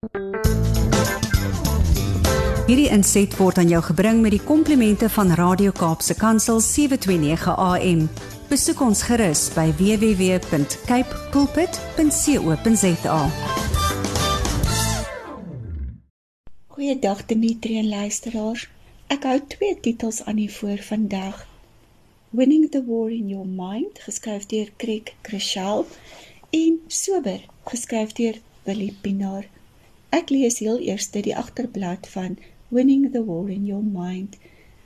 Hierdie inset word aan jou gebring met die komplimente van Radio Kaapse Kansel 729 AM. Besoek ons gerus by www.cape pulpit.co.za. Goeiedag Dimitri en luisteraars. Ek hou 2 titels aan u voor vandag. Winning the War in Your Mind, geskryf deur Craig Groeschel, en Sober, geskryf deur Willie Pienaar. Ek lees heel eers die agterblad van Winning the War in Your Mind.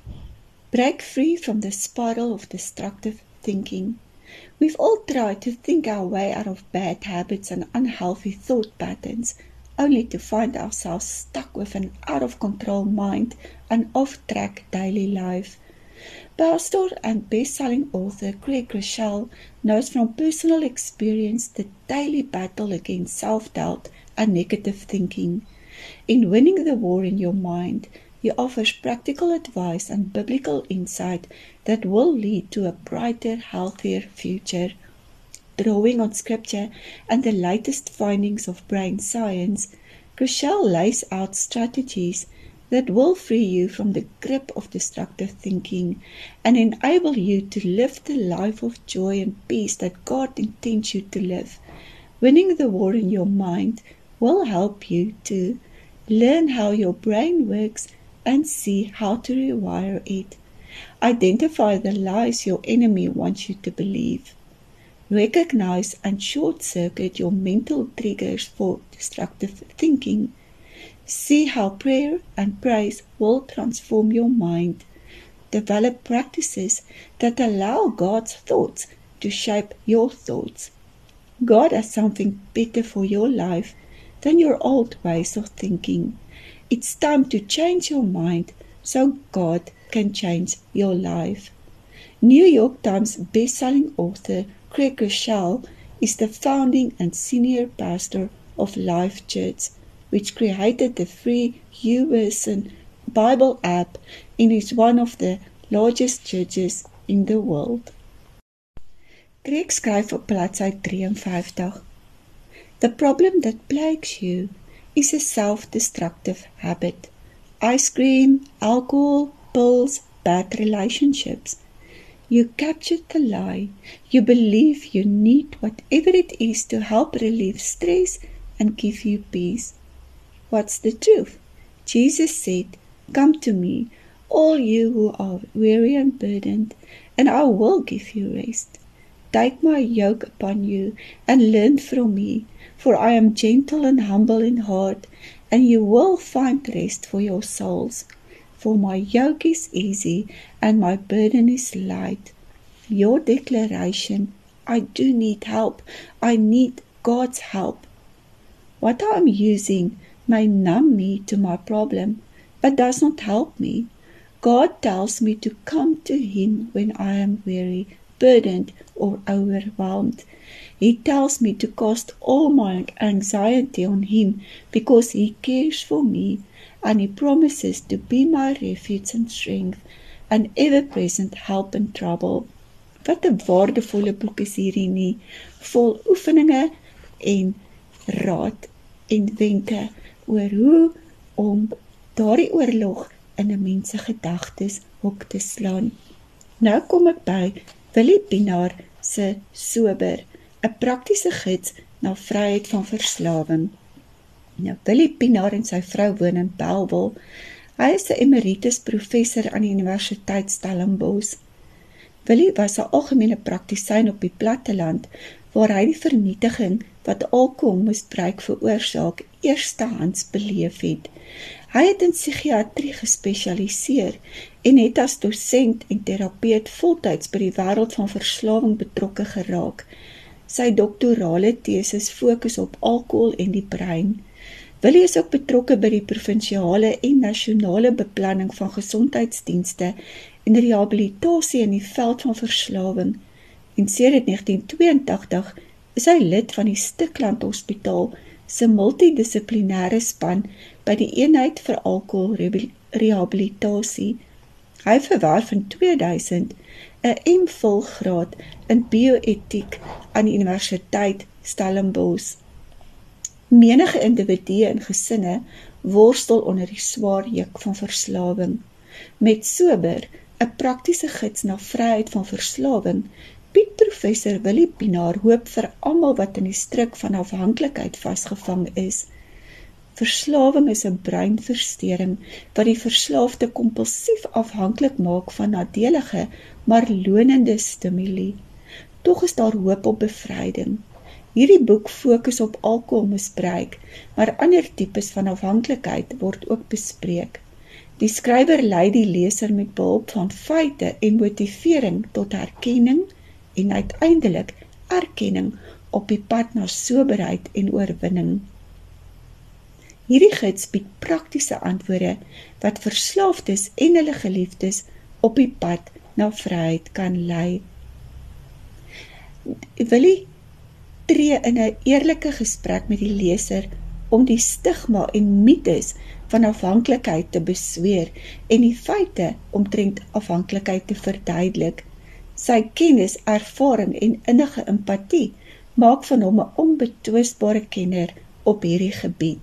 Break free from the spiral of destructive thinking. We've all tried to think our way out of bad habits and unhealthy thought patterns, only to find ourselves stuck with an out-of-control mind and off-track daily life. Pastor and best-selling author Craig Groeschel knows from personal experience the daily battle against self-doubt and negative thinking. In Winning the War in Your Mind, he offers practical advice and biblical insight that will lead to a brighter, healthier future. Drawing on scripture and the latest findings of brain science, Groeschel lays out strategies that will free you from the grip of destructive thinking and enable you to live the life of joy and peace that God intends you to live. Winning the War in Your Mind will help you to learn how your brain works and see how to rewire it. Identify the lies your enemy wants you to believe. Recognize and short-circuit your mental triggers for destructive thinking. See how prayer and praise will transform your mind. Develop practices that allow God's thoughts to shape your thoughts. God has something better for your life than your old ways of thinking. It's time to change your mind so God can change your life. New York Times best-selling author Craig Groeschel is the founding and senior pastor of Life Church, which created the free YouVersion Bible app and is one of the largest churches in the world. Craig skryf op bladsy 53. The problem that plagues you is a self-destructive habit. Ice cream, alcohol, pills, bad relationships. You captured the lie. You believe you need whatever it is to help relieve stress and give you peace. What's the truth? Jesus said, "Come to me, all you who are weary and burdened, and I will give you rest. Take my yoke upon you and learn from me, for I am gentle and humble in heart, and you will find rest for your souls. For my yoke is easy and my burden is light." Your declaration, I do need help. I need God's help. What I am using may numb me to my problem, but does not help me. God tells me to come to Him when I am weary, burdened, or overwhelmed. He tells me to cast all my anxiety on Him because He cares for me, and He promises to be my refuge and strength, and ever-present help in trouble. Wat 'n waardevolle boek is hierdie nie, vol oefeninge en raad en wenke oor hoe om daardie oorlog in 'n mens se gedagtes hok te slaan. Nou kom ek by Willie Pienaar se Sober, 'n praktiese gids na vryheid van verslawing. Nou, Willie Pienaar en sy vrou woon in Bellville. Hy is 'n emeritus professor aan die Universiteit Stellenbosch. Willie was 'n algemene praktisyn op die platteland, waar hy die vernietiging wat alkoholmisbruik veroorsaak eerstehands beleef het. Hy het in psigiatrie gespesialiseer en het as dosent en terapeut voltyds by die wêreld van verslawing betrokke geraak. Sy doktorale teses fokus op alkohol en die brein. Willie is ook betrokke by die provinsiale en nasionale beplanning van gesondheidsdienste en rehabilitasie in die veld van verslawing. En sedert 1982 is hy lid van die Stikland Hospitaal se multidissiplinêre span by die Eenheid vir Alkoholrehabilitasie. Hy verwerf in 2000 'n M.Phil graad in bioetiek aan die Universiteit Stellenbosch. Menige individue en gesinne worstel onder die swaar juk van verslawing. Met Sober, 'n praktiese gids na vryheid van verslawing, bied professor Willie Pinaar hoop vir almal wat in die struik van afhanklikheid vasgevang is. Verslawing is 'n breinversteuring wat die verslaafde kompulsief afhanklik maak van nadelige, maar lonende stimuli. Tog is daar hoop op bevryding. Hierdie boek fokus op alkoholmisbruik, maar ander tipes van afhanklikheid word ook bespreek. Die skrywer lei die leser met behulp van feite en motivering tot herkenning en uiteindelik erkenning op die pad na soberheid en oorwinning. Hierdie gids bied praktiese antwoorde wat verslaafdes en hulle geliefdes op die pad na vryheid kan lei. Willie tree in 'n eerlike gesprek met die leser om die stigma en mites van afhanklikheid te besweer en die feite omtrent afhanklikheid te verduidelik. Sy kennis, ervaring en innige empatie maak van hom 'n onbetwisbare kenner op hierdie gebied.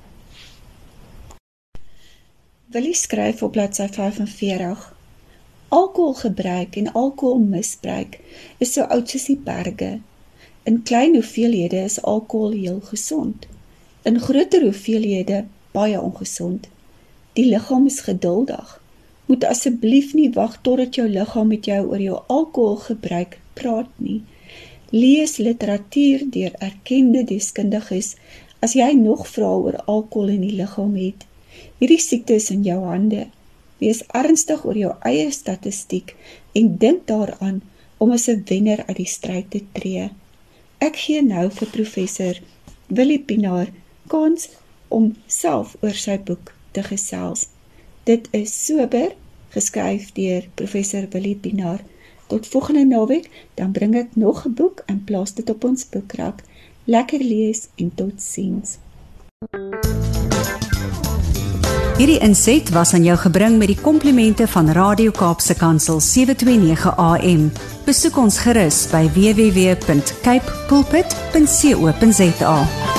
Willie skryf op bladsy 45: Alkoholgebruik en alkoholmisbruik is so oud soos die berge. In klein hoeveelhede is alkohol heel gesond. In groter hoeveelhede baie ongesond. Die liggaam is geduldig. Moet asseblief nie wag totdat jou liggaam met jou oor jou alkoholgebruik praat nie. Lees literatuur deur erkende deskundiges as jy nog vrae oor alkohol in die liggaam het. Hierdie siekte is in jou hande. Wees ernstig oor jou eie statistiek en dink daaraan om as 'n wenner uit die stryd te tree. Ek gee nou vir professor Willie Pinaar kans om self oor sy boek te gesels. Dit is Sober, geskryf deur professor Willie Pinaar. Tot volgende naweek, dan bring ek nog 'n boek en plaas dit op ons boekrak. Lekker lees en totsiens. Hierdie inset was aan jou gebring met die komplimente van Radio Kaapse Kansel 729 AM. Besoek ons gerus by www.cape pulpit.co.za.